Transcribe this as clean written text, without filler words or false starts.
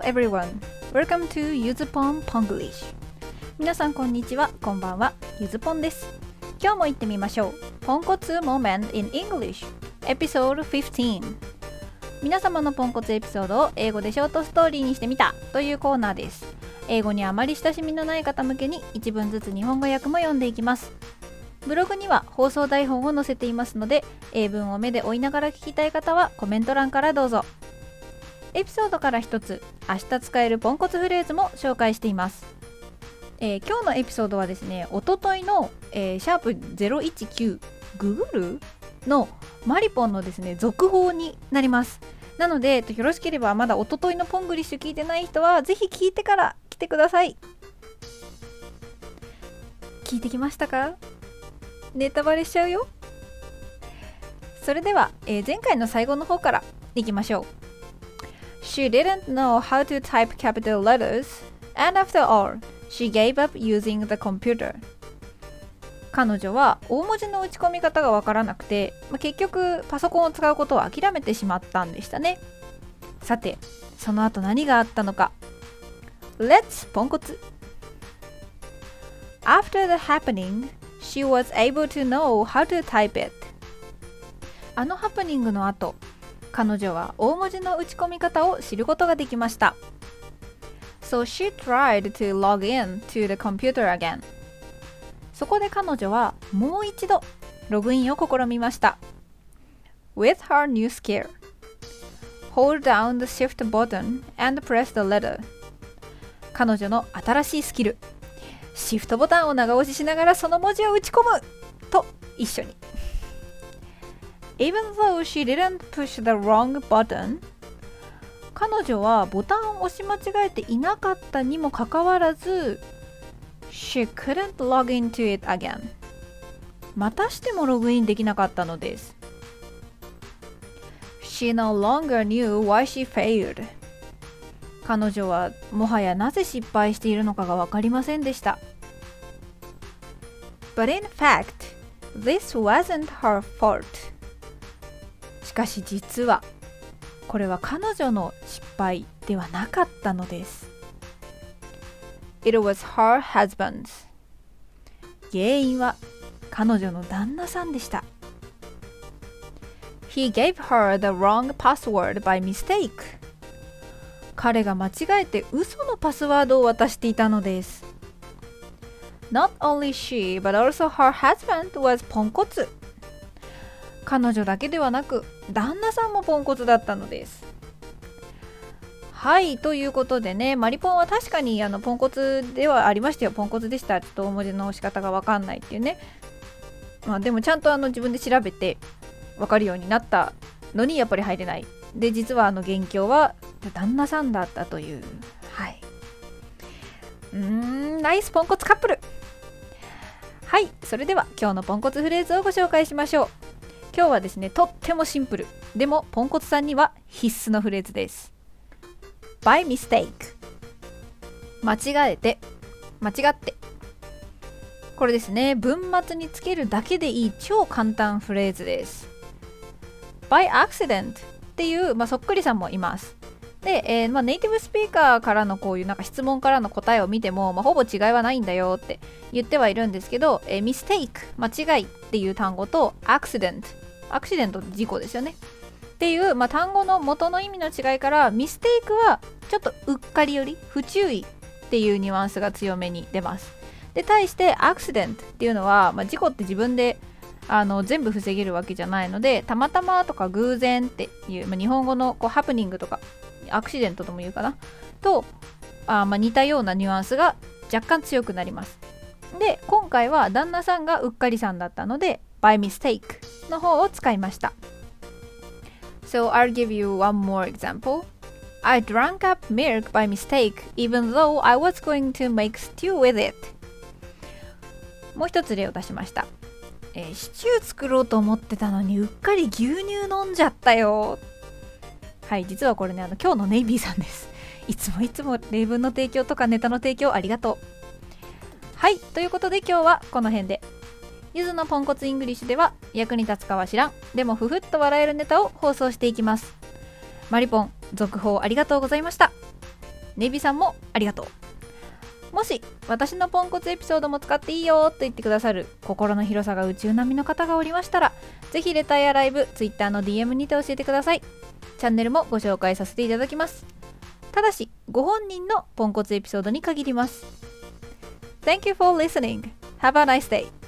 everyone. Welcome to ゆずぽん Ponglish. 皆さんこんにちは、こんばんは、ゆずぽんです。今日も行ってみましょう。ポンコツ Moment in English Episode 15。皆様のポンコツエピソードを英語でショートストーリーにしてみたというコーナーです。英語にあまり親しみのない方向けに一文ずつ日本語訳も読んでいきます。ブログには放送台本を載せていますので、英文を目で追いながら聞きたい方はコメント欄からどうぞ。エピソードから一つ、明日使えるポンコツフレーズも紹介しています。今日のエピソードはですね、おとといの、シャープ019ググルのマリポンのですね続報になります。なのでよろしければまだおとといのポングリッシュ聞いてない人はぜひ聞いてから来てください。聞いてきましたか？ネタバレしちゃうよ。それでは、前回の最後の方からいきましょう。She didn't know how to type capital letters, and after all, she gave up using the computer. 彼女は大文字の打ち込み方がわからなくて、結局パソコンを使うことを諦めてしまったんでしたね。さて、その後何があったのか。Let's ポンコツ。After the happening, she was able to know how to type it. あのハプニングの後、彼女は大文字の打ち込み方を知ることができました。So she tried to log in to the computer again. そこで彼女はもう一度ログインを試みました。With her new skill, hold down the shift button and press the letter. 彼女の新しいスキル、シフトボタンを長押ししながらその文字を打ち込むと一緒に。Even though she didn't push the wrong button, 彼女はボタンを押し間違えていなかったにもかかわらず、She couldn't log into it again. またしてもログインできなかったのです。She no longer knew why she failed. 彼女はもはやなぜ失敗しているのかが分かりませんでした。But in fact, this wasn't her fault. しかし実はこれは彼女の失敗ではなかったのです。It was her husband's. 原因は彼女の旦那さんでした。He gave her the wrong password by mistake. 彼が間違えて嘘のパスワードを渡していたのです。Not only she, but also her husband was ポンコツ。彼女だけではなく旦那さんもポンコツだったのです。はい、ということでね、マリポンは確かにポンコツではありましたよ。ポンコツでした。ちょっと大文字の押し方が分かんないっていうね。でもちゃんと自分で調べて分かるようになったのにやっぱり入れない。で、実は元凶は旦那さんだったという。はい。ナイスポンコツカップル。はい、それでは今日のポンコツフレーズをご紹介しましょう。今日はですね、とってもシンプル。でもポンコツさんには必須のフレーズです。by mistake。 間違えて、間違って。これですね、文末につけるだけでいい超簡単フレーズです。by accident っていう、そっくりさんもいます。で、ネイティブスピーカーからのこういうなんか質問からの答えを見ても、ほぼ違いはないんだよって言ってはいるんですけど、mistake 間違いっていう単語と accident アクシデント事故ですよねっていう、単語の元の意味の違いからミステイクはちょっとうっかりより不注意っていうニュアンスが強めに出ます。で、対してアクシデントっていうのは、事故って自分で全部防げるわけじゃないので、たまたまとか偶然っていう、日本語のこうハプニングとかアクシデントとも言うかなと似たようなニュアンスが若干強くなります。で、今回は旦那さんがうっかりさんだったのでby mistake の方を使いました。So I'll give you one more example. I drank up milk by mistake even though I was going to make stew with it. もう一つ例を出しました。シチュー作ろうと思ってたのにうっかり牛乳飲んじゃったよ。はい、実はこれね、今日のネイビーさんです。いつも例文の提供とかネタの提供ありがとう。はい、ということで今日はこの辺で。ゆずのポンコツイングリッシュでは役に立つかは知らん、でもふふっと笑えるネタを放送していきます。マリポン、続報ありがとうございました。 ネビさんもありがとう。もし私のポンコツエピソードも使っていいよと言ってくださる心の広さが宇宙並みの方がおりましたら、ぜひレターやライブ、Twitter の DM にて教えてください。チャンネルもご紹介させていただきます。ただしご本人のポンコツエピソードに限ります。Thank you for listening. Have a nice day.